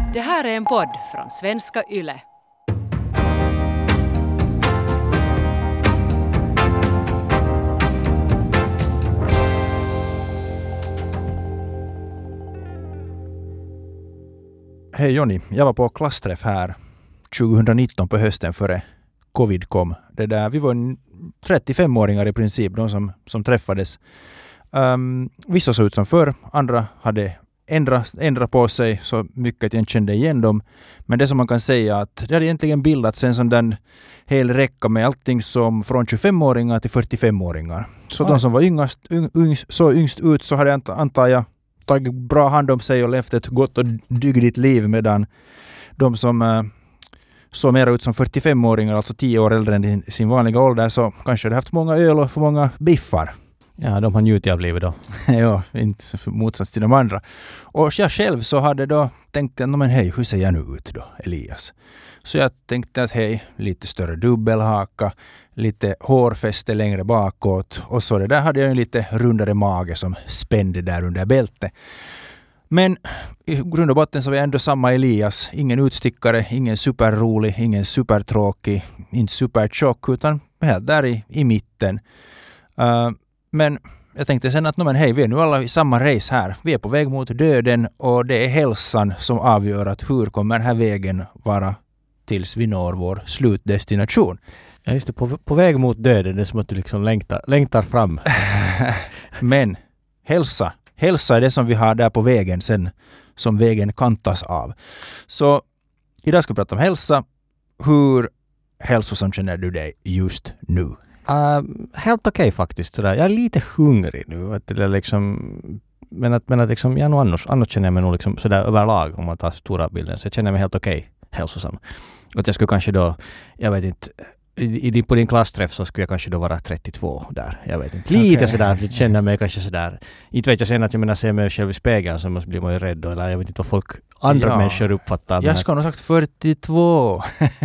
Det här är en podd från Svenska Yle. Hej Jonny, jag var på klassträff här 2019 på hösten före covid kom. Vi var 35-åringar i princip, de som träffades. Vissa såg ut som förr, andra hade ändrat på sig så mycket att jag kände igen dem. Men det som man kan säga att det hade egentligen bildats en sån där hel räcka med allting som från 25-åringar till 45-åringar. Så de som var yngst ut så hade antar jag tagit bra hand om sig och levt ett gott och dygdigt liv, medan de som såg mer ut som 45-åringar, alltså 10 år äldre än sin vanliga ålder, så kanske hade haft många öl och för många biffar. Ja, de har njutit av livet då. Ja, inte för motsats till de andra. Och jag själv så hade då tänkt, men hej, hur ser jag nu ut då, Elias? Så jag tänkte att hej, lite större dubbelhaka, lite hårfäste längre bakåt, och så det där hade jag en lite rundare mage som spände där under bältet. Men i grund och botten så var jag ändå samma Elias. Ingen utstickare, ingen superrolig, ingen supertråkig, inte supertjock, utan helt där i mitten. Men jag tänkte sen att hej, vi är nu alla i samma race här. Vi är på väg mot döden och det är hälsan som avgör att hur kommer den här vägen vara tills vi når vår slutdestination. Ja, just det, på väg mot döden, det är som att du liksom längtar fram. Men hälsa är det som vi har där på vägen sen, som vägen kantas av. Så idag ska vi prata om hälsa. Hur hälsosam känner du dig just nu? Helt okej faktiskt. Sådär. Jag är lite hungrig nu. Att det liksom, men att liksom, jag nog annars känner jag mig nog liksom sådär överlag, om man tar stora bilden. Så jag känner mig helt okej hälsosam. Att jag skulle kanske då, jag vet inte, på din klassträff så skulle jag kanske då vara 32 där. Jag vet inte. Lite sådär, jag känner mig kanske sådär. Inte vet jag sen att jag ser mig själv i spegeln så måste bli man ju rädd då, eller jag vet inte vad andra människor uppfattar. Jag ska nog sagt 42.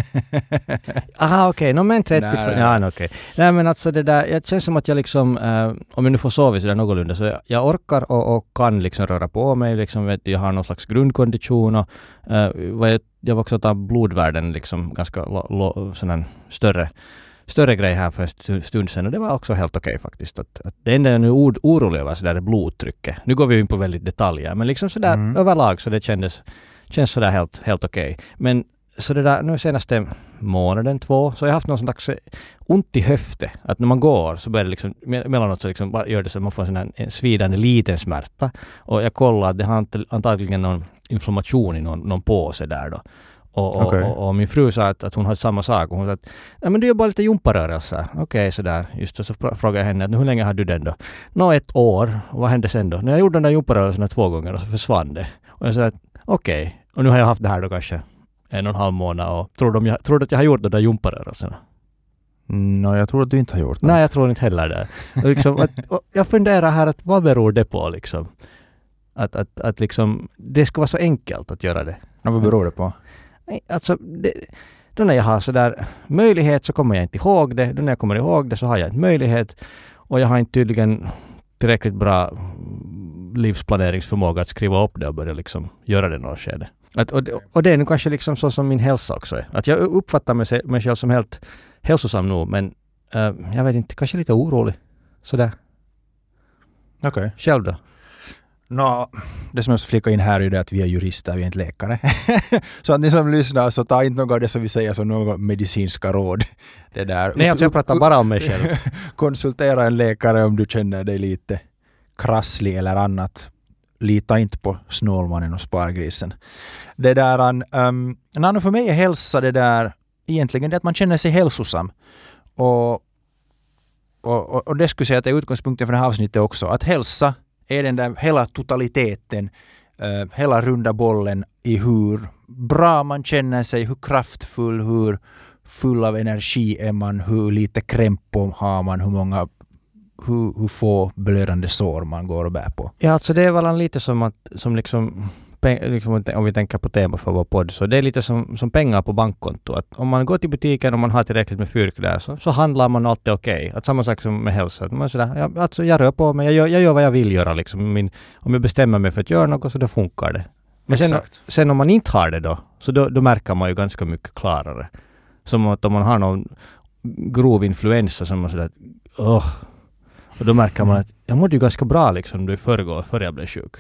Okej. Men 30. Ja, okej. Nej, men alltså det där, jag känns som att jag liksom, om jag nu får sova så där någorlunda, så jag orkar och kan liksom röra på mig. Liksom, vet, jag har någon slags grundkondition och jag var också att ta blodvärden liksom ganska sån större grej här för en stund sedan, och det var också helt okej faktiskt. Att det enda jag nu orolig över så där är blodtrycket. Nu går vi in på väldigt detaljer, men liksom sådär överlag så det känns sådär helt okej. Men så det där, nu senaste månaden 2 så har jag haft någon slags ont i höfte. Att när man går så börjar det liksom, mellanåt så liksom gör det så att man får en svidande liten smärta. Och jag kollade att det har antagligen någon inflammation i någon påse där då. Och min fru sa att hon hade samma sak. Hon sa att men du gör bara lite jumparörelser. Okej, sådär. Just så frågade jag henne att hur länge har du den då? 1 år. Och vad hände sen då? När jag gjorde de där jumparörelserna 2 gånger och så försvann det. Och jag sa att okej. Och nu har jag haft det här då kanske 1,5 månad och tror du att jag har gjort de där jumparörelserna? Jag tror att du inte har gjort det. Nej, jag tror inte heller det. Liksom, jag funderar här att vad beror det på liksom? Att liksom, det ska vara så enkelt att göra det. Vad beror det på? Nej, alltså då när jag har sådär möjlighet så kommer jag inte ihåg det. Då när jag kommer ihåg det så har jag inte möjlighet. Och jag har inte tydligen tillräckligt bra livsplaneringsförmåga att skriva upp det och börja liksom göra det något skede. Och det är nu kanske liksom så som min hälsa också är. Att jag uppfattar mig själv som helt hälsosam nu, men jag vet inte, kanske lite orolig. Sådär. Okej. Själv då? Det som jag ska flika in här är det att vi är jurister, vi är inte läkare. Så att ni som lyssnar, så ta inte något av det som vi säger som några medicinska råd. Det där. Nej, jag pratar bara om mig själv. Konsultera en läkare om du känner dig lite krasslig eller annat. Lita inte på snålmannen och spargrisen. Det där, för mig är hälsa det där egentligen det att man känner sig hälsosam. Och det skulle säga att det är utgångspunkten för det här avsnittet också. Att hälsa är den där hela totaliteten, hela runda bollen i hur bra man känner sig, hur kraftfull, hur full av energi är man, hur lite krämpor har man, hur få blödande sår man går och bär på. Ja, alltså det är väl lite som liksom om vi tänker på tema för vår podd, så det är lite som pengar på bankkonto. Att om man går till butiken och man har tillräckligt med fyrk där så handlar man alltid okej. Att samma sak som med hälsa. Att man sådär, jag rör på mig, jag gör vad jag vill göra. Liksom. Om jag bestämmer mig för att göra något så då funkar det. Men Exakt. sen om man inte har det då, så då märker man ju ganska mycket klarare. Som att om man har någon grov influensa som man sådär, och då märker man att jag mådde ju ganska bra liksom i förrgår, före jag blev sjuk.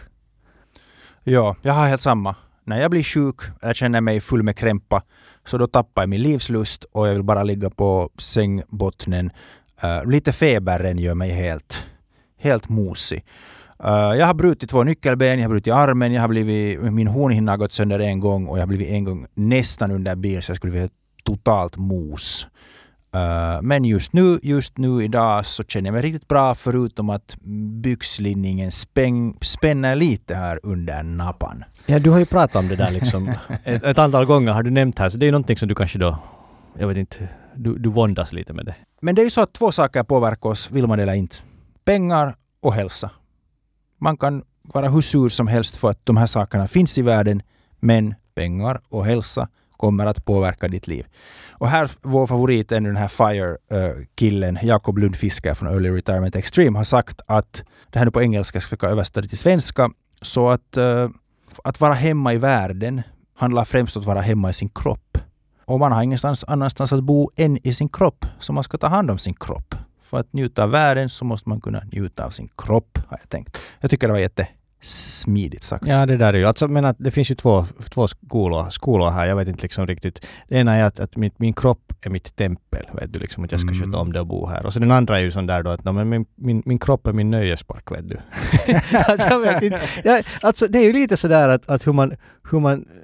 Ja, jag har helt samma. När jag blir sjuk, jag känner mig full med krämpa, så då tappar jag min livslust och jag vill bara ligga på sängbottnen. Lite feberen gör mig helt mosig. Jag har brutit 2 nyckelben, jag har brutit armen, min hornhinna har gått sönder en gång och jag har blivit en gång nästan under bil så jag skulle bli totalt mos. Men just nu idag så känner jag mig riktigt bra förutom att byxlinningen spänner lite här under nappan. Ja, du har ju pratat om det där liksom ett antal gånger har du nämnt här, så det är ju någonting som du kanske då, jag vet inte, du våndas lite med det. Men det är ju så att 2 saker påverkar oss, vill man det eller inte. Pengar och hälsa. Man kan vara hur sur som helst för att de här sakerna finns i världen, men pengar och hälsa kommer att påverka ditt liv. Och här, vår favorit är den här FIRE-killen, Jakob Lundfisker från Early Retirement Extreme, har sagt att, det här nu på engelska ska jag översätta det till svenska, så att vara hemma i världen handlar främst om att vara hemma i sin kropp. Och man har ingenstans annanstans att bo än i sin kropp, så man ska ta hand om sin kropp. För att njuta av världen så måste man kunna njuta av sin kropp, har jag tänkt. Jag tycker det var jättesmidigt sagt. Ja, det där är ju, alltså, men att det finns ju två skolor här, jag vet inte liksom riktigt. Det ena är att min kropp är mitt tempel, vet du, liksom att jag ska sköta om det och bo här. Och så den andra är ju sån där då att min kropp är min nöjespark, vet du. Alltså, jag vet inte. Alltså det är ju lite sådär att hur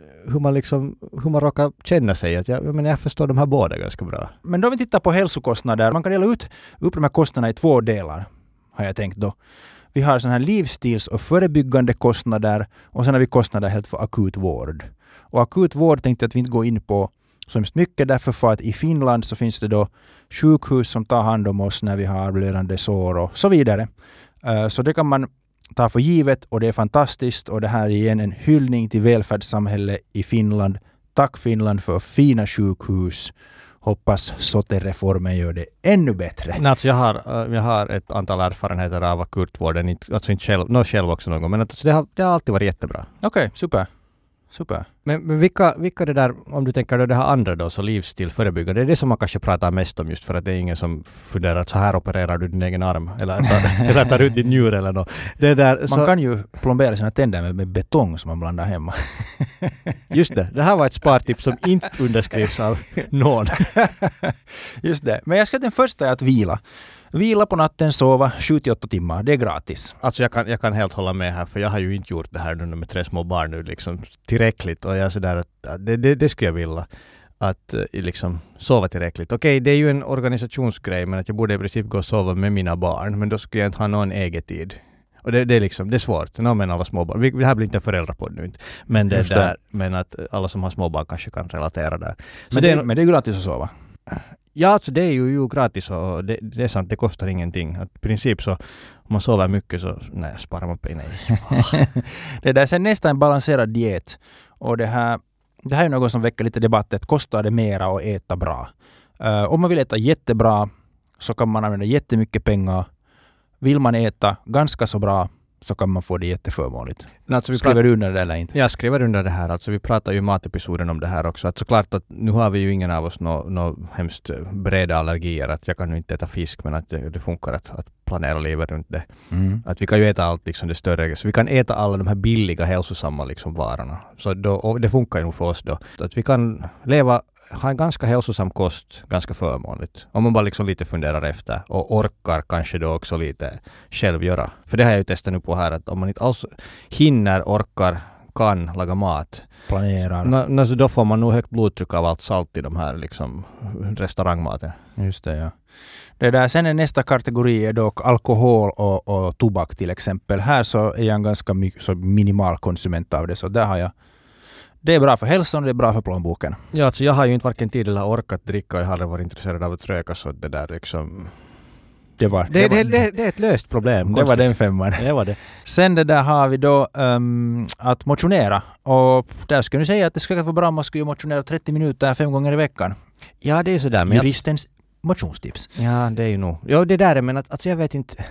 man råkar känna sig. Att jag förstår de här båda ganska bra. Men då vi tittar på hälsokostnader, man kan dela upp de här kostnaderna i 2 delar, har jag tänkt då. Vi har sådana här livsstils- och förebyggande kostnader och sen har vi kostnader helt för akut vård. Och akut vård tänkte jag att vi inte går in på så mycket därför för att i Finland så finns det då sjukhus som tar hand om oss när vi har blödande sår och så vidare. Så det kan man ta för givet och det är fantastiskt och det här är igen en hyllning till välfärdssamhället i Finland. Tack Finland för fina sjukhus. Hoppas SOTE-reformen gör det ännu bättre. Nej, alltså jag har ett antal erfarenheter av akutvården, alltså inte själv också någon gång, men alltså det har alltid varit jättebra. Okej, super. Men vilka det där, om du tänker det här andra då, så livsstil förebyggande, det är det som man kanske pratar mest om just för att det är ingen som funderar att så här opererar du din egen arm eller tar ut din njur eller något. Det där, man kan ju plombera sina tänder med betong som man blandar hemma. Just det här var ett spartips som inte underskrivs av någon. Just det, men jag ska den första är att vila. Vila på natten, sova 7-8 timmar. Det är gratis. Alltså jag kan helt hålla med här, för jag har ju inte gjort det här nu med 3 små barn nu liksom tillräckligt, och jag är sådär att det skulle jag vilja, att liksom sova tillräckligt. Okej, det är ju en organisationsgrej, men att jag borde i princip gå och sova med mina barn, men då skulle jag inte ha någon egen tid. Och det är liksom, det är svårt. Men alla småbarn. Det här blir inte en föräldrapodd nu inte. Men det där, men att alla som har småbarn kanske kan relatera där. Så men det är gratis att sova. Ja, alltså det är ju gratis och det är sant, det kostar ingenting. Att i princip så, om man sover mycket så sparar man pengar. Det där är sen nästan en balanserad diet. Och det här är något som väcker lite debatt. Kostar det mera att äta bra? Om man vill äta jättebra så kan man använda jättemycket pengar. Vill man äta ganska så bra så kan man få det jätteförmånligt. Alltså skriver du under det eller inte? Jag skriver under det här. Alltså vi pratar ju i matepisoden om det här också. Att såklart att nu har vi ju ingen av oss några hemskt breda allergier. Att jag kan ju inte äta fisk, men att det funkar att planera livet runt det. Mm. Att vi kan ju äta allt liksom det större. Så vi kan äta alla de här billiga, hälsosamma liksom varorna. Så och det funkar ju nog för oss då. Att vi kan ha en ganska hälsosam kost, ganska förmånligt. Om man bara liksom lite funderar efter och orkar kanske då också lite själv göra. För det har jag ju testat nu på här, att om man inte alls hinner, orkar, kan laga mat. Planerar. Så då får man nog högt blodtryck av allt salt i de här liksom restaurangmaten. Just det, ja. Det där, sen är nästa kategori är dock alkohol och tobak till exempel. Här så är jag en ganska så minimal konsument av det, så där har jag. Det är bra för hälsan och det är bra för plånboken. Ja, alltså jag har ju inte varken tid eller orkat dricka och jag har aldrig varit intresserad av att röka, så det där liksom. Det är ett löst problem. Det var den 5:an. Det var det. Sen det där har vi då att motionera. Och där skulle jag säga att det skulle vara bra om man skulle motionera 30 minuter 5 gånger i veckan. Ja, det är sådär. Juristens motionstips. Ja, det är ju nog. Ja, det där är, men att alltså jag vet inte.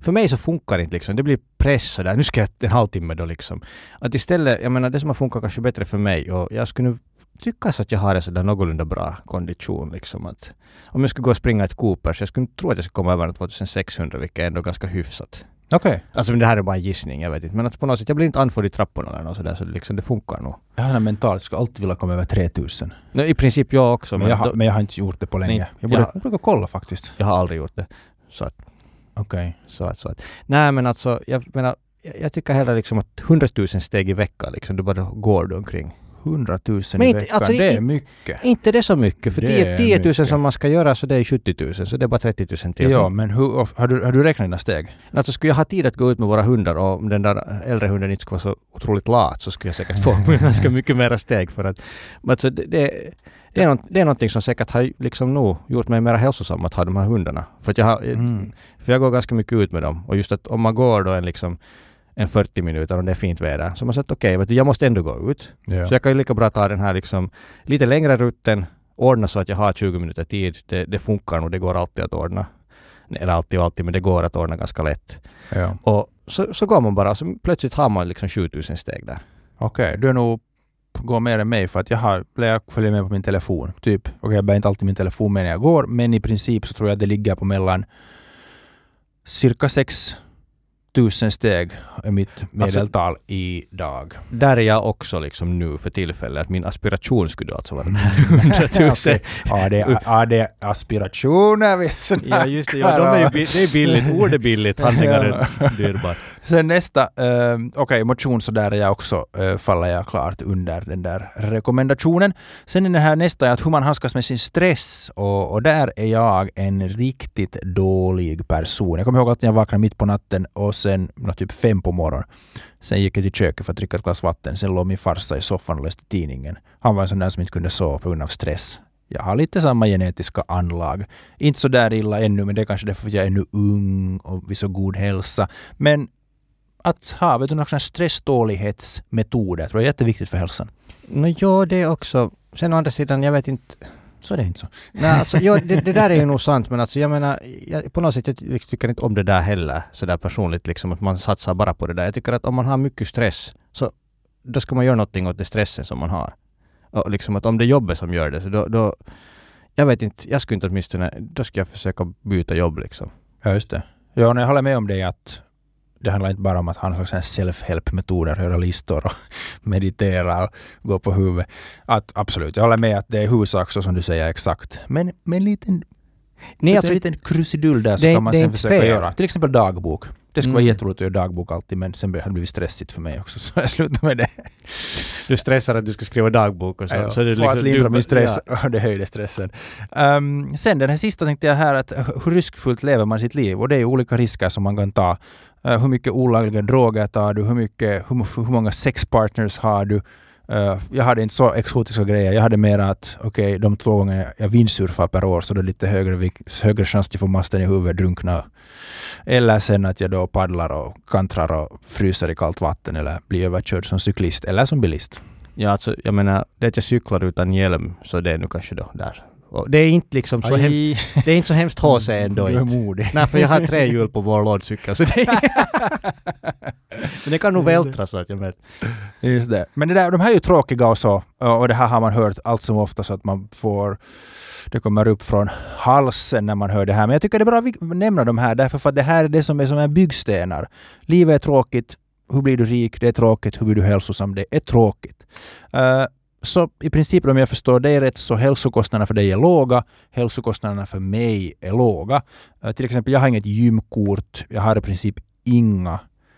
för mig så funkar det inte liksom. Det blir press sådär. Nu ska jag en halvtimme då liksom. Att istället, jag menar det som har funkat kanske bättre för mig och jag skulle nu tycka att jag har en sådär någorlunda bra kondition liksom. Att om jag skulle gå och springa ett Cooper så jag skulle tro att jag skulle komma över 2600, vilket är ändå ganska hyfsat. Okej. Alltså men det här är bara en gissning, jag vet inte. Men att på något sätt, jag blir inte andfådd i trapporna eller något sådär, så det, liksom, det funkar nog. Jag har mentalt, jag skulle alltid vilja komma över 3000. No, i princip jag också. Men jag har inte gjort det på länge. Nej, jag borde kolla faktiskt. Jag har aldrig gjort det. Så att. Okej. Så att. Nej men alltså, jag tycker hellre liksom att 100 000 steg i veckan liksom, du bara går du omkring. 100 000 men i veckan, alltså, det är mycket. Inte det så mycket, för det 10 000 mycket. som man ska göra så det är 70 000, så det är bara 30 000 till. Ja, men har du räknat dina steg? Alltså skulle jag ha tid att gå ut med våra hundar och om den där äldre hunden inte skulle vara så otroligt lat så skulle jag säkert få ganska mycket mera steg för att alltså, det är någonting som säkert har liksom nog gjort mig mer hälsosam att ha de här hundarna. För att jag går ganska mycket ut med dem och just att om man går då en 40 minuter om det är fint väder. Så man sagt okej, jag måste ändå gå ut. Ja. Så jag kan ju lika bra ta den här liksom lite längre rutten, ordna så att jag har 20 minuter tid. Det funkar nog, det går alltid att ordna. Eller alltid, men det går att ordna ganska lätt. Ja. Och så går man bara, så plötsligt har man liksom 7000 steg där. Okej, du är nog går mer än mig för att jag följer med på min telefon. Typ, jag bär inte alltid min telefon med när jag går, men i princip så tror jag att det ligger på mellan cirka 6 000 steg är mitt medeltal idag. Där är jag också liksom nu för tillfället. Att min aspiration skulle alltså vara 100 000. Okay. Ja, det är aspirationer. Ja, just det. Ja, det är billigt. Ord är billigt. Handlingar är dyrbart. Sen nästa, motion så där är jag också, faller jag klart under den där rekommendationen. Sen är den här nästa att hur man handskas med sin stress. Och där är jag en riktigt dålig person. Jag kommer ihåg att jag vaknade mitt på natten och sen typ 5 på morgonen. Sen gick jag till köket för att dricka ett glas vatten. Sen låg min farsa i soffan och läste tidningen. Han var en sån där som inte kunde sova på grund av stress. Jag har lite samma genetiska anlag. Inte så där illa ännu, men det är kanske därför att jag är ännu ung och vid så god hälsa. Men att ha några stresstålighetsmetoder tror jag är jätteviktigt för hälsan. Ja, det är också. Sen å andra sidan, jag vet inte. Så är det inte så. Nej, alltså, det där är ju nog sant, men alltså, jag menar, på något sätt jag tycker inte om det där heller, så där personligt, liksom, att man satsar bara på det där. Jag tycker att om man har mycket stress, så då ska man göra någonting åt det stressen som man har. Och liksom att om det är jobbet som gör det, så då jag vet inte, jag skulle inte åtminstone, då ska jag försöka byta jobb liksom. Ja, just det. Ja, jag håller med om det att det handlar inte bara om att ha någon slags self-help-metoder, göra listor och meditera och gå på huvudet. Absolut, jag håller med att det är huvudsak så som du säger exakt. Men en liten krusidull där så kan man sen försöka göra. Till exempel dagbok. Det skulle vara jätteroligt att göra dagbok alltid, men sen har det blivit stressigt för mig också, så jag slutar med det. Du stressar att du ska skriva dagbok och så. Ja, så det för att lindra min stress, och det höjde stressen. Sen den här sista tänkte jag här, att hur riskfullt lever man sitt liv? Och det är olika risker som man kan ta. Hur mycket olagliga droger tar du? Hur många sexpartners har du? Jag hade inte så exotiska grejer. Jag hade mer att de 2 gånger jag vindsurfar per år, så det är lite högre chans att få masten i huvudet, drunkna. Eller sen att jag då paddlar och kantrar och fryser i kallt vatten eller blir överkörd som cyklist eller som bilist. Ja, alltså jag menar, det är att jag cyklar utan hjälm, så det är nu kanske då där. Och det är inte liksom så hemskt, det är inte så hemskt HC ändå. Du är modig. Nej, för jag har 3 hjul på vår lådcykel, så det men det kan nog vältra så att jag vet. Just det. Men de här är ju tråkiga och så, och det här har man hört allt som ofta, så att man får, det kommer upp från halsen när man hör det här. Men jag tycker det är bra att nämna de här, därför att det här är det som är som en byggstenar. Livet är tråkigt. Hur blir du rik? Det är tråkigt. Hur blir du hälsosam? Det är tråkigt. Så i princip, om jag förstår det rätt, så hälsokostnaderna för dig är låga. Hälsokostnaderna för mig är låga. Till exempel, jag har inget gymkort. Jag har i princip inga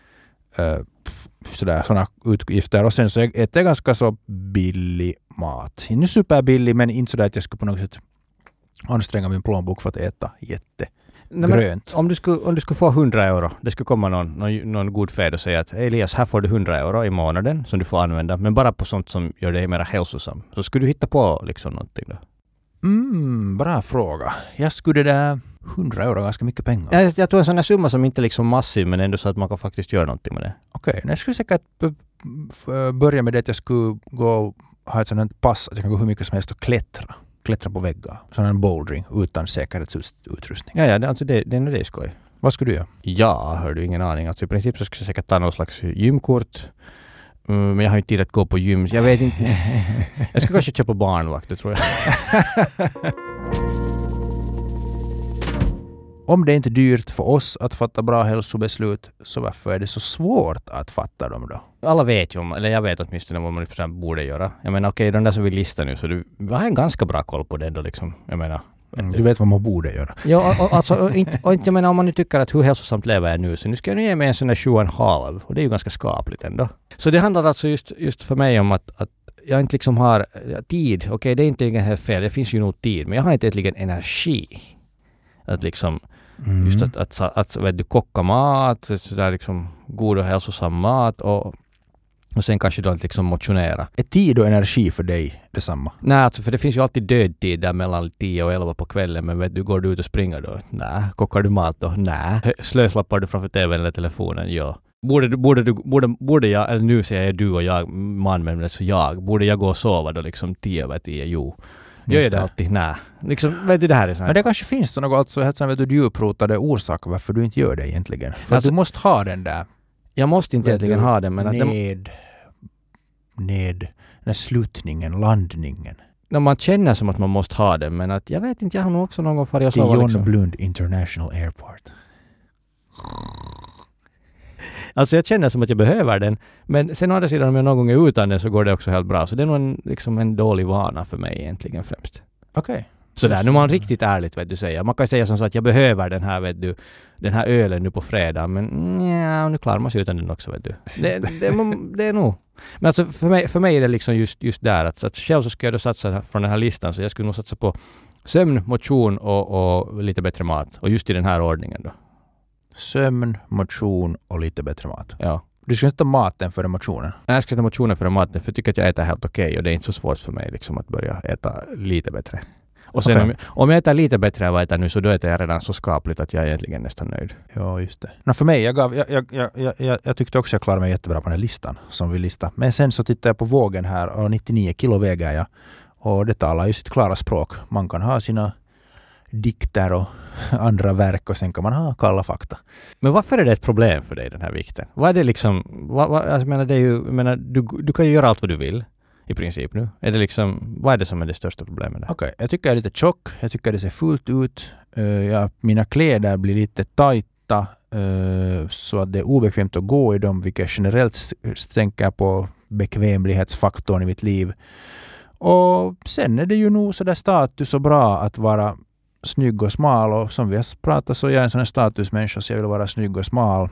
sådana utgifter. Och sen så äter jag ganska så billig mat. Inte superbillig, men inte sådär att jag skulle på något sätt anstränga min plånbok för att äta grönt. Om du skulle få 100 euro, det skulle komma någon god fed och säga att Elias, här får du 100 euro i månaden som du får använda, men bara på sånt som gör dig mer hälsosam. Så skulle du hitta på liksom någonting då? Bra fråga. Jag skulle där 100 euro ganska mycket pengar. Jag tror en sån här summa som inte är liksom massiv, men ändå så att man kan faktiskt göra någonting med det. Okej, jag skulle säkert börja med det att jag skulle gå ha ett sådant pass att jag kan gå hur mycket som helst och klättra på väggar. Sån här bouldering utan säkerhetsutrustning. Ja, det är nog det skoj. Vad skulle du göra? Ja, hör du, ingen aning. Alltså i princip så skulle jag säkert ta någon slags gymkort. Men jag har inte tid att gå på gym. Jag vet inte. Jag skulle kanske köpa barnvakt, det tror jag. Om det är inte dyrt för oss att fatta bra hälsobeslut, så varför är det så svårt att fatta dem då? Alla vet ju om, eller jag vet åtminstone vad man borde göra. Jag menar okej, de där som vi listar nu, så du har en ganska bra koll på det då liksom. Jag menar. Du vet vad man borde göra. Ja, och inte jag menar om man nu tycker att hur hälsosamt lever jag nu, så nu ska jag nu ge mig en sån där 7,5 och det är ju ganska skapligt ändå. Så det handlar alltså just för mig om att jag inte liksom har tid. Okej, det är inte helt fel, det finns ju nog tid, men jag har inte egentligen energi att liksom just att vet du, koka mat, sådär liksom god och hälsosam mat och sen kanske då att liksom motionera. Är tid och energi för dig detsamma? Nej, alltså för det finns ju alltid dödtid där mellan 10 och 11 på kvällen, men vet du, går du ut och springer då? Nej. Kokar du mat då? Nej. Slöslappar du framför tvn eller telefonen? Ja. Borde jag, eller nu säger jag du och jag, man, men så borde jag gå och sova då liksom 10/10? Jo. Gör jag det alltid? Nej. Liksom, vet du, det här är så här. Men det kanske finns något alltså helt djuprotade orsaker varför du inte gör det egentligen. För alltså, att du måste ha den där. Jag måste inte egentligen ha den, men den här slutningen, landningen. När man känner som att man måste ha den, men att jag vet inte, jag har nog också någon gång farit och sova. Det är John liksom. Blund International Airport. Alltså jag känner som att jag behöver den, men sen å andra sidan om jag någon gång är utan den så går det också helt bra. Så det är nog en dålig vana för mig egentligen främst. Okej. Sådär, nu är man riktigt ärligt vet du säga. Man kan säga som så att jag behöver den här vet du, den här ölen nu på fredag, men nu klarar man sig utan den också vet du. Det är nog. Men alltså för mig är det liksom just där att själv så ska jag då satsa från den här listan, så jag skulle nog satsa på sömn, motion och lite bättre mat. Och just i den här ordningen då. Sömn, motion och lite bättre mat. Ja. Du ska inte ta maten före motionen? Jag ska ta motionen före maten, för jag tycker att jag äter helt okej och det är inte så svårt för mig liksom att börja äta lite bättre. Och sen om jag äter lite bättre än vad jag äter nu, så då äter jag redan så skapligt att jag är egentligen nästan nöjd. Ja, just det. För mig, jag tyckte också jag klarade mig jättebra på den här listan som vi listar. Men sen så tittar jag på vågen här och 99 kilo väger jag. Och det talar ju sitt klara språk. Man kan ha sina dikter och andra verk och sen kan man ha kalla fakta. Men varför är det ett problem för dig den här vikten? Vad är det liksom, jag menar, det är ju, du kan ju göra allt vad du vill i princip nu. Är det liksom, vad är det som är det största problemet där? Okej, jag tycker jag är lite tjock, jag tycker det ser fullt ut. Mina kläder blir lite tajta så att det är obekvämt att gå i dem, vilket generellt sänker på bekvämlighetsfaktorn i mitt liv. Och sen är det ju nog så där status och bra att vara snygg och smal, och som vi har pratat så jag är en sån här statusmänniska, så jag vill vara snygg och smal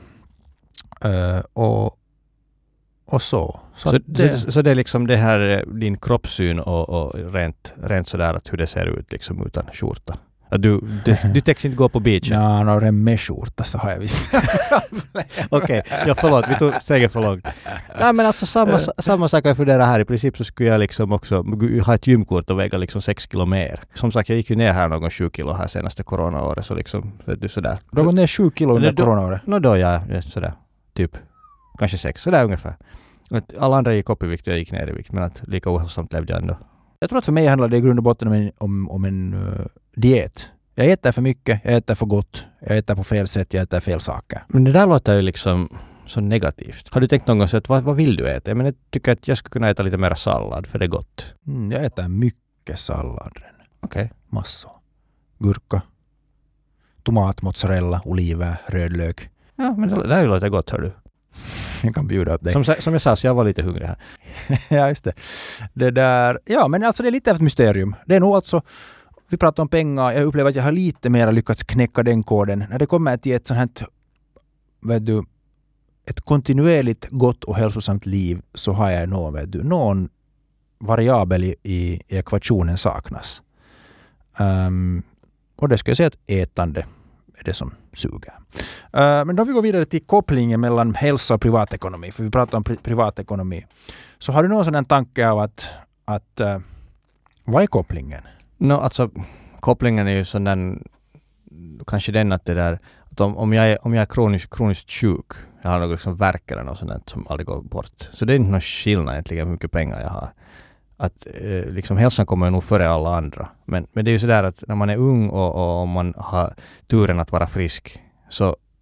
och så. Så det är liksom det här din kroppssyn och rent sådär att hur det ser ut liksom utan skjorta. Du täcks inte gå på beachen. Ja, några med skjorta så har jag visst. Okej, förlåt, vi tog steget för långt. Nej, men alltså samma sak jag funderar här. I princip så skulle jag liksom också ha ett gymkort och väga liksom 6 kilo mer. Som sagt, jag gick ju ner här någon 7 kilo här senaste coronaåret, så liksom, vet du, sådär. Du har gått ner 7 kilo under coronaåret? Då ja, sådär, typ, kanske 6, sådär ungefär. Alla andra gick upp i vikt och jag gick ner i vikt, men att lika ohälsosamt levde jag ändå. Jag tror att för mig handlar det i grund och botten om en diet. Jag äter för mycket, jag äter för gott, jag äter på fel sätt, jag äter fel saker. Men det där låter ju liksom så negativt. Har du tänkt någon gång så att vad vill du äta? Jag tycker att jag skulle kunna äta lite mer sallad, för det är gott. Jag äter mycket sallad. Okej. Massor. Gurka, tomat, mozzarella, oliver, rödlök. Ja, men det där låter gott, hör du. Jag kan bjuda åt dig. Som jag sa, så jag var lite hungrig här. Ja, just det. Det där, ja, men alltså det är lite av ett mysterium. Det är nog alltså, vi pratar om pengar, jag upplever att jag har lite mer lyckats knäcka den koden. När det kommer till ett sånt här, vet du, ett kontinuerligt gott och hälsosamt liv, så har jag någon variabel i ekvationen saknas. Och det ska jag säga att ätande är det som suger. Men då vi går vidare till kopplingen mellan hälsa och privatekonomi, för vi pratar om privatekonomi. Så har du någon sån tanke av att vad är kopplingen? Alltså kopplingen är ju sån där, kanske den att det där, att om jag är kroniskt sjuk, jag har något liksom värk eller något sånt som aldrig går bort. Så det är inte någon skillnad egentligen hur mycket pengar jag har. Att liksom hälsan kommer nog före alla andra. Men det är ju sådär att när man är ung och man har turen att vara frisk, så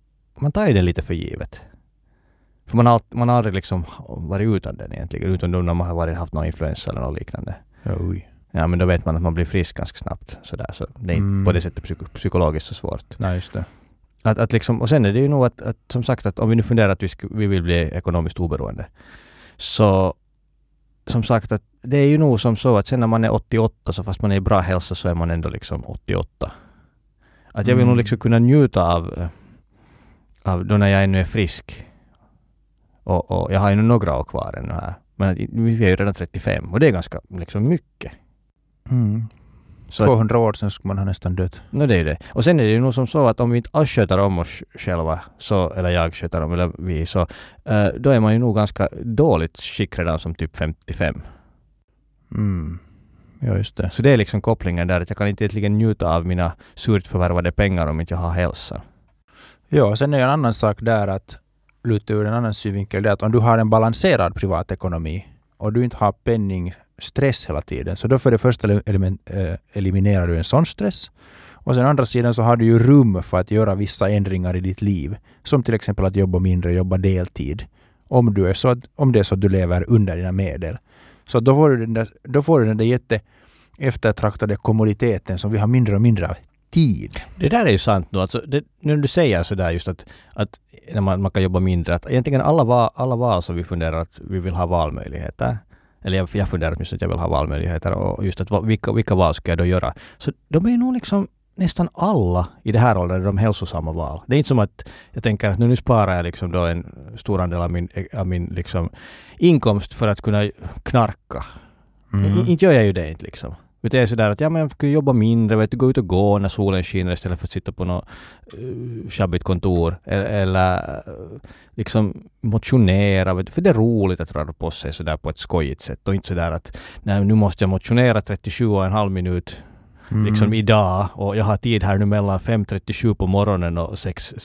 man tar ju det lite för givet. För man har aldrig liksom varit utan den egentligen, utan då när man har haft någon influensa eller något liknande. Oj. Ja, men då vet man att man blir frisk ganska snabbt. Så det är inte på det sättet psykologiskt så svårt. Nej, just det. Att liksom, och sen är det ju nog att som sagt, att om vi nu funderar att vi vill bli ekonomiskt oberoende, så som sagt att det är ju nog som så att sen när man är 88, så fast man är i bra hälsa, så är man ändå liksom 88. Att jag vill nog liksom kunna njuta av då när jag ännu är frisk. Och jag har ju några år kvar ännu här. Men vi är ju redan 35 och det är ganska liksom mycket. Så 200 år sedan skulle man ha nästan dött. Det är det. Och sen är det ju nog som så att om vi inte alls sköter om oss själva, eller jag sköter om, eller vi, så då är man ju nog ganska dåligt skick redan som typ 55. Ja, just det. Så det är liksom kopplingen där, att jag kan inte egentligen njuta av mina surt förvärvade pengar om inte jag har hälsa. Ja, sen är en annan sak där att luta ur en annan synvinkel, det är att om du har en balanserad privatekonomi och du inte har penningstress hela tiden, så då för det första eliminerar du en sån stress. Och sen andra sidan så har du ju rum för att göra vissa ändringar i ditt liv. Som till exempel att jobba mindre, jobba deltid. Om det är så att du lever under dina medel. Så då får du den där jätte eftertraktade kommoditeten som vi har mindre och mindre av tid. Det där är ju sant nu. Alltså, när du säger så där just att när man kan jobba mindre, att egentligen alla val som vi funderar att vi vill ha valmöjligheter. Eller jag funderar just att jag vill ha valmöjligheter, och just att vilka val ska jag då göra. Så de är ju nog liksom nästan alla i det här åldern de hälsosamma val. Det är inte som att jag tänker att nu sparar jag liksom då en stor andel av min liksom inkomst för att kunna knarka. Inte gör jag ju det inte liksom. Det är sådär att men jag ska jobba mindre, gå ut och gå när solen skiner istället för att sitta på något sjabbigt kontor, eller liksom motionera, för det är roligt att röra på sig sådär på ett skojigt sätt, och inte sådär att nu måste jag motionera 37,5 minut liksom idag, och jag har tid här nu mellan 5:37 på morgonen och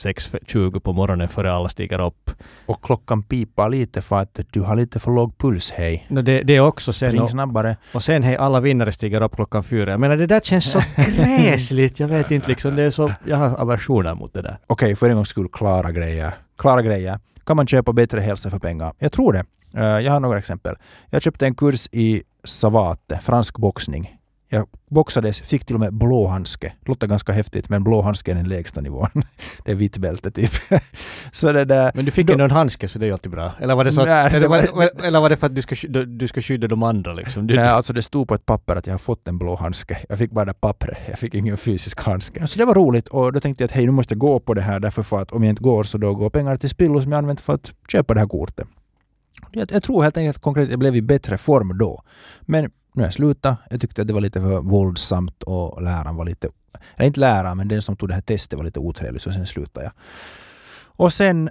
6:20 på morgonen före alla stiger upp. Och klockan pipar lite för att du har lite för låg puls, hej. Det är också sen. Spring snabbare. Och sen hej, alla vinnare stiger upp klockan 4. Jag menar, det där känns så gräsligt. Jag vet inte liksom, det är så, jag har aversioner mot det där. Okej, för en gångs skull, klara grejer. Kan man köpa bättre hälsa för pengar? Jag tror det. Jag har några exempel. Jag köpte en kurs i savate, fransk boxning. Jag boxades, fick till och med blåhandske. Låter ganska häftigt, men blåhandske är den lägsta nivån. Det är vitt bälte typ. Så det där, men du fick ändå en handske, så det är ju alltid bra. Eller var det så att, eller var det för att du ska skydda de andra liksom? Nej, alltså det stod på ett papper att jag har fått en blåhandske. Jag fick bara det pappret. Jag fick ingen fysisk handske. Så det var roligt, och då tänkte jag att hej, nu måste jag gå på det här, därför för att om jag inte går så då går pengar till spillo som jag använt för att köpa det här kortet. Jag tror helt enkelt konkret att jag blev i bättre form då. Men nu jag slutade, jag tyckte att det var lite för våldsamt och läraren var lite, eller inte läraren, men den som tog det här testet var lite otrevlig, så sen slutade jag. Och sen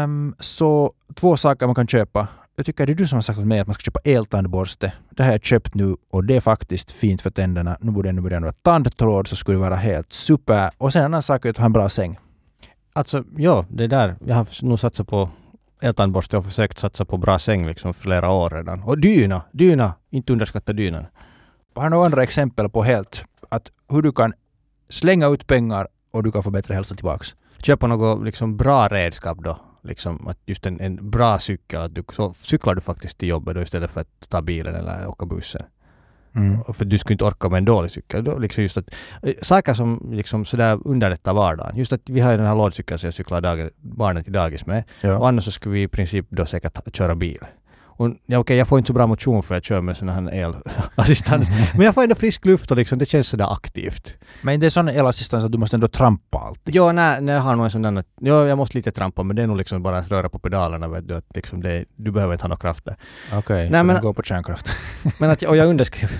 så 2 saker man kan köpa. Jag tycker det är du som har sagt åt mig att man ska köpa eltandborste. Det här har jag köpt nu och det är faktiskt fint för tänderna. Nu borde det börja tandtråd, så skulle det vara helt super. Och sen en annan sak är att ha en bra säng. Alltså, ja, det där. Jag har nog satsat på eltandborste och försökt satsa på bra säng liksom flera år redan. Och dyna, inte underskatta dynan. Jag har några andra exempel på helt att hur du kan slänga ut pengar och du kan få bättre hälsa tillbaks. Köpa något liksom bra redskap då. Liksom att just en bra cykel, att så cyklar du faktiskt till jobbet då istället för att ta bilen eller åka bussen. För du skulle inte orka med en dålig cykel. Då liksom just att, saker som liksom sådär underlättar vardagen. Just att vi har ju den här lådcykeln som jag cyklar barnen till dagis med. Ja. Och annars så skulle vi i princip då säkert köra bil. Och jag får inte så bra motion för att köra med sån här elassistans. Men jag får ändå frisk luft och liksom, det känns sådär aktivt. Men det är sån elassistans att du måste ändå trampa alltid. Ja, nej, jag har nog en sån där. Ja, jag måste lite trampa, men det är nog liksom bara att röra på pedalerna. Vet du, att liksom du behöver inte ha några krafter. Okej, så du går på kärnkraft. Men att jag underskrev.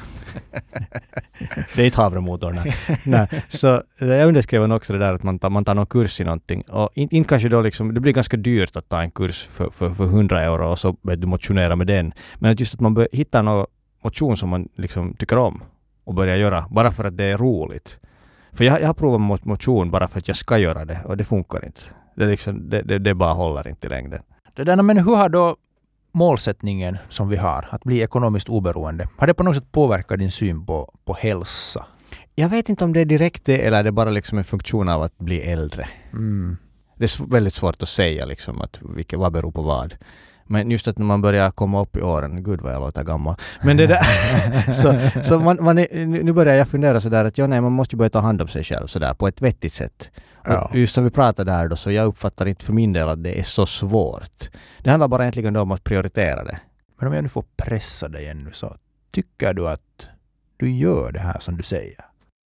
Det är inte havremotorn. Nej. Så jag underskrev också det där att man tar någon kurs i någonting. Och inte kanske då liksom, det blir ganska dyrt att ta en kurs för 100 euro och så du motionerar med den. Men att just att man hittar någon motion som man liksom tycker om och börjar göra bara för att det är roligt. För jag har provat motion bara för att jag ska göra det och det funkar inte. Det, liksom, det bara håller inte i längden. Det där, men hur har då målsättningen som vi har, att bli ekonomiskt oberoende, har det på något sätt påverkat din syn på hälsa? Jag vet inte om det är direkt det eller är det bara liksom en funktion av att bli äldre. Det är väldigt svårt att säga liksom att vad beror på vad. Men just att när man börjar komma upp i åren, gud vad jag låter gammal. Men det där, så nu börjar jag fundera sådär att man måste ju börja ta hand om sig själv sådär på ett vettigt sätt. Och just som vi pratade där då, så jag uppfattar inte för min del att det är så svårt. Det handlar bara egentligen om att prioritera det. Men om jag nu får pressa dig ännu, så tycker du att du gör det här som du säger?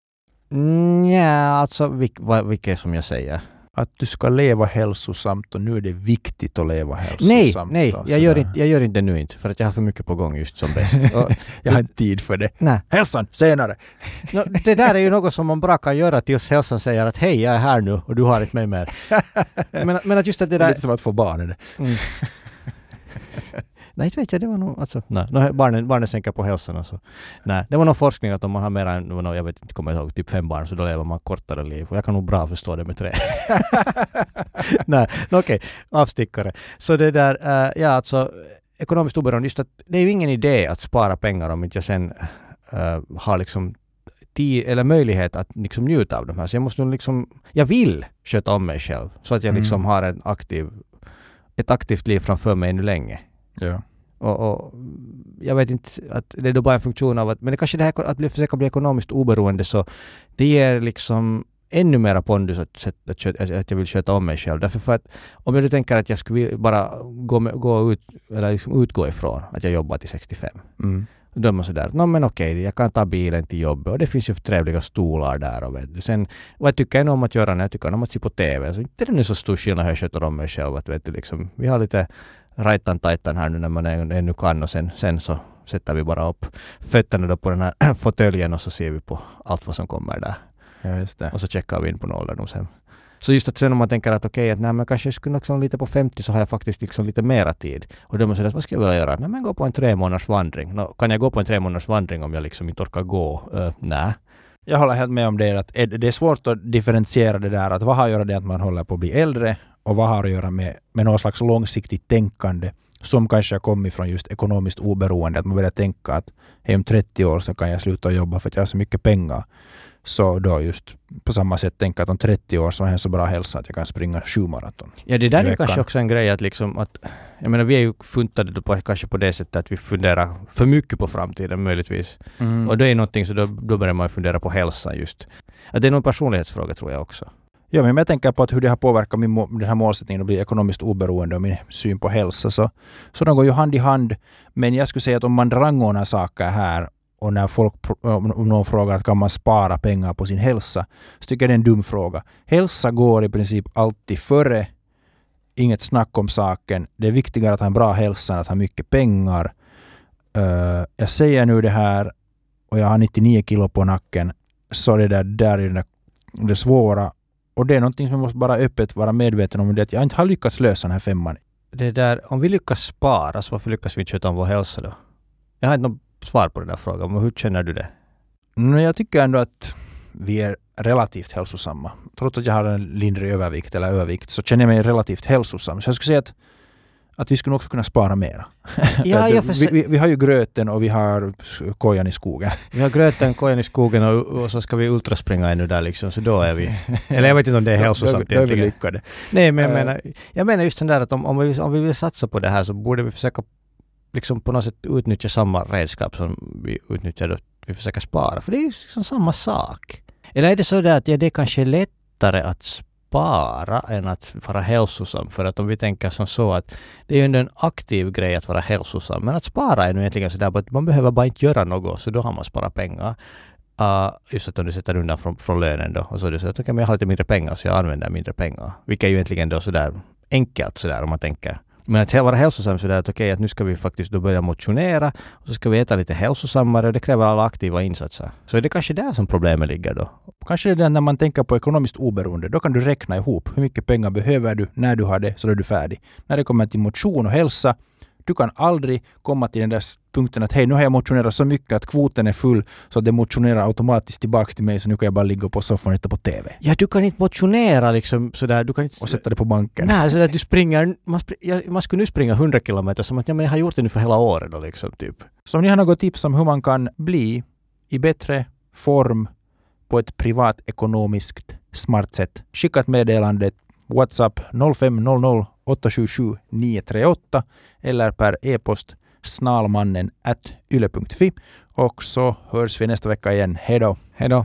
Alltså vilket som jag säger. Att du ska leva hälsosamt och nu är det viktigt att leva hälsosamt. Nej, jag gör inte det nu inte för att jag har för mycket på gång just som bäst. Jag har inte tid för det. Nej. Hälsan, senare! Det där är ju något som man bara kan göra tills hälsan säger att hej, jag är här nu och du har inte mig mer. Men att just att det där... Lite som att få barn är det. Nej, inte vet jag, det var nog... Alltså, nej, barnen sänker på hälsan. Alltså. Nej, det var någon forskning att om man har mer än, jag vet inte, kommer ihåg, typ 5 barn så då lever man kortare liv. Och jag kan nog bra förstå det med 3. Nej, okej, avstickare. Så det där, alltså ekonomiskt oberoende, just att det är ju ingen idé att spara pengar om inte jag sen har liksom tid eller möjlighet att liksom njuta av de här. Så jag måste liksom, jag vill sköta om mig själv så att jag liksom har ett aktivt liv framför mig ännu länge. Ja. Och jag vet inte att det är då bara en funktion av att, men det kanske det här att försöka bli ekonomiskt oberoende, så det ger liksom ännu mera pondus att jag vill sköta om mig själv. Därför för att om jag tänker att jag skulle bara gå ut eller liksom utgå ifrån att jag jobbar till 65. Då är man sådär, men okej, jag kan ta bilen till jobbet och det finns ju trevliga stolar där och vet du. Sen, vad tycker jag om att göra när jag tycker om att se på TV? Så inte är det så stor skillnad hur jag sköter om mig själv. Att, vet du, liksom, vi har lite rajtan-tajtan här nu när man ännu kan och sen så sätter vi bara upp fötterna då på den här fåtöljen och så ser vi på allt vad som kommer där. Ja, just det. Och så checkar vi in på ålderdomshem. Så just att sen om man tänker att okej, att men kanske jag skulle liksom lite på 50 så har jag faktiskt liksom lite mera tid. Och då måste jag säga, vad ska jag vilja göra? Nej, men gå på en 3 månaders vandring. Kan jag gå på en 3 månaders vandring om jag liksom inte orkar gå? Nej. Jag håller helt med om det, att det är svårt att differentiera det där, att vad har att göra det att man håller på att bli äldre och vad har att göra med någon slags långsiktigt tänkande som kanske har kommit från just ekonomiskt oberoende, att man börjar tänka att om 30 år så kan jag sluta jobba för att jag har så mycket pengar. Så då just på samma sätt tänka att om 30 år så har jag så bra hälsa att jag kan springa 7 maraton. Ja, det där är kanske också en grej att liksom att, jag menar vi är ju funtade på, kanske på det sättet att vi funderar för mycket på framtiden möjligtvis. Och det är någonting så då börjar man fundera på hälsan just. Att det är någon personlighetsfråga tror jag också. Ja, men jag tänker på att hur det har påverkat den här målsättningen att bli ekonomiskt oberoende och min syn på hälsa. Så de går ju hand i hand. Men jag skulle säga att om man rangordnar saker här och när om någon frågar att kan man spara pengar på sin hälsa, så tycker jag det är en dum fråga. Hälsa går i princip alltid före. Inget snack om saken. Det är viktigare att ha en bra hälsa än att ha mycket pengar. Jag säger nu det här och jag har 99 kilo på nacken, så det där är det svåra. Och det är någonting som jag måste bara öppet vara medveten om, det att jag inte har lyckats lösa den här 5:an. Det där, om vi lyckas spara, så varför lyckas vi inte sköta om vår hälsa då? Jag har inte något svar på den där frågan, men hur känner du det? Jag tycker ändå att vi är relativt hälsosamma. Trots att jag har en lindrig övervikt så känner jag mig relativt hälsosam. Så jag skulle säga att vi skulle också kunna spara mera. Ja, vi har ju gröten och vi har kojan i skogen. Vi har gröten, kojan i skogen och så ska vi ultraspringa ännu där liksom, så då är vi... Eller jag vet inte om det är hälsosamt egentligen. Då är vi lyckade. Nej, men jag menar just den där att om vi vill satsa på det här så borde vi försöka liksom på något sätt utnyttja samma redskap som vi utnyttjar då vi försöker spara. För det är ju liksom samma sak. Eller är det så där att det är kanske lättare att spara än att vara hälsosam? För att om vi tänker som så att det är ju en aktiv grej att vara hälsosam. Men att spara är nu egentligen sådär att man behöver bara inte göra något, så då har man sparat pengar. Just att om du sätter undan från lönen då. Och så är det så att men jag har lite mindre pengar så jag använder mindre pengar. Vilket är ju egentligen då sådär enkelt sådär om man tänker. Men att vara hälsosam så där att okej, att nu ska vi faktiskt då börja motionera och så ska vi äta lite hälsosammare och det kräver alla aktiva insatser. Så är det kanske där som problemet ligger då. Kanske det är när man tänker på ekonomiskt oberoende. Då kan du räkna ihop hur mycket pengar behöver du när du har det, så är du färdig. När det kommer till motion och hälsa, du kan aldrig komma till den där punkten att hej, nu har jag motionerat så mycket att kvoten är full så att det motionerar automatiskt tillbaka till mig, så nu kan jag bara ligga på soffan och titta på TV. Ja, du kan inte motionera liksom sådär. Du kan inte... Och sätta det på banken. Nej, sådär att du springer... Man skulle nu springa 100 kilometer som att jag har gjort det nu för hela året då liksom typ. Så om ni har något tips om hur man kan bli i bättre form på ett privatekonomiskt smart sätt, skicka ett meddelande WhatsApp 0500 877 938 eller per e-post snalmannen@yle.fi. Och så hörs vi nästa vecka igen. Hej då! Hej då!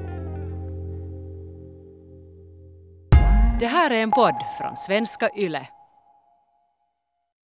Det här är en podd från svenska Yle.